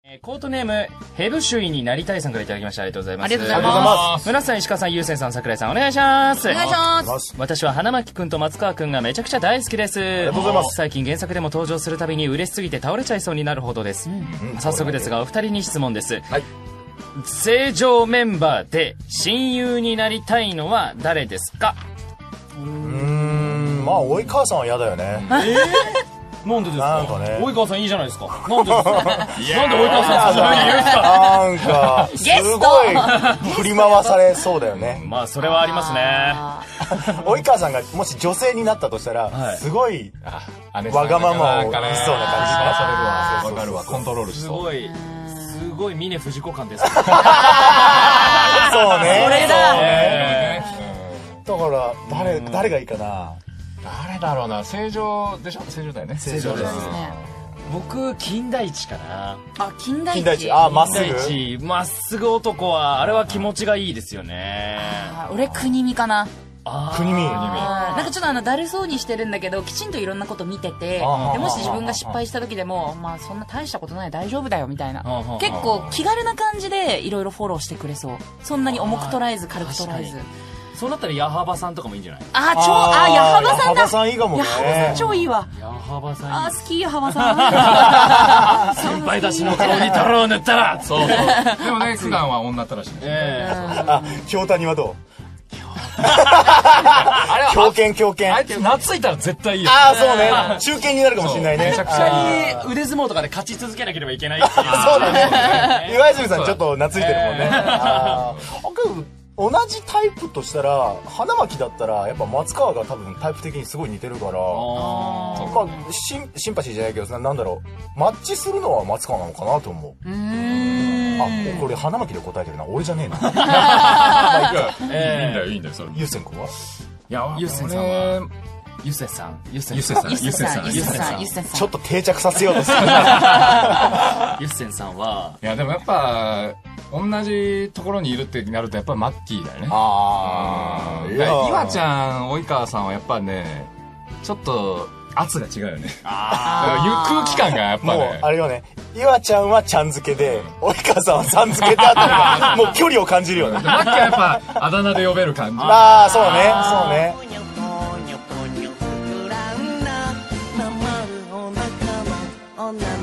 コートネームヘブシュイになりたいさんからいただきました。ありがとうございます。 ありがとうございます。 村さん、石川さん、ゆうせんさん、桜井さん、お願いします。 お願いします。 私は花巻くんと松川くんがめちゃくちゃ大好きです。ありがとうございます。 最近原作でも登場するたびに嬉しすぎて倒れちゃいそうになるほどです。早速ですがお二人に質問です。 はい。 正常メンバーで親友になりたいのは誰ですか？ まあ及川さんは嫌だよね。 なんでですか？ なんかね及川さんいいじゃないですか。なんでですか？なんで及川さんそんな風に言うんですか？ なんかすごい振り回されそうだよね。 まあそれはありますね。 及川さんがもし女性になったとしたら、 はいすごいわがままを言いそうな感じがされるわ。 わかるわ、コントロールしそう。 すごい峰不二子感です。 そうね。 それだそうね。だから誰がいいかな。 誰だろうな。正常でしょ？正常だよね。 正常ですね。 僕金田一かな。 あ、金田一。 金田一。あ、まっす金ぐ。 田一まっすぐ男はあれは気持ちがいいですよね。 俺国見かな。 国見。 なんかちょっとだるそうにしてるんだけどきちんといろんなこと見てて、でもし自分が失敗した時でもまあそんな大したことない大丈夫だよみたいな、結構気軽な感じでいろいろフォローしてくれそう。そんなに重く捉えず軽く捉えず。 そうなったら矢幅さんとかもいいんじゃない？ 矢幅さんだ。 矢幅さんいいかもね。 矢幅さん超いいわ。 矢幅さんいい。 好き矢幅さん。 先輩たちの顔に太郎を塗ったら。 そうそう。でもね、普段は女ったらしい。 あ、京谷はどう？狂犬。 あいつ懐いたら絶対いいよ。 ああ、そうね。中堅になるかもしれないね。 めちゃくちゃいい。 腕相撲とかで勝ち続けなければいけないっていう。 そうだね。岩泉さんちょっと懐いてるもんね。同じタイプとしたら花巻だったらやっぱ松川が多分タイプ的にすごい似てるから、まあシンパシーじゃないけどなんだろう、マッチするのは松川なのかなと思う。あ、これ花巻で答えてるな、俺じゃねえな。 いいんだよそれ。 ゆうせんくんは？ いや、ゆっせんさんはゆっせんさんちょっと定着させようとする。 ゆっせんさんは、 いやでもやっぱ同じところにいるってなるとやっぱりマッキーだよね。岩ちゃん及川さんはやっぱねちょっと圧が違うよね。空気感がやっぱね、 もうあれよね、岩ちゃんはちゃん付けで及川さんはさん付けであったのがもう距離を感じるよね。 マッキーはやっぱあだ名で呼べる感じ。 ああ、そうね。 女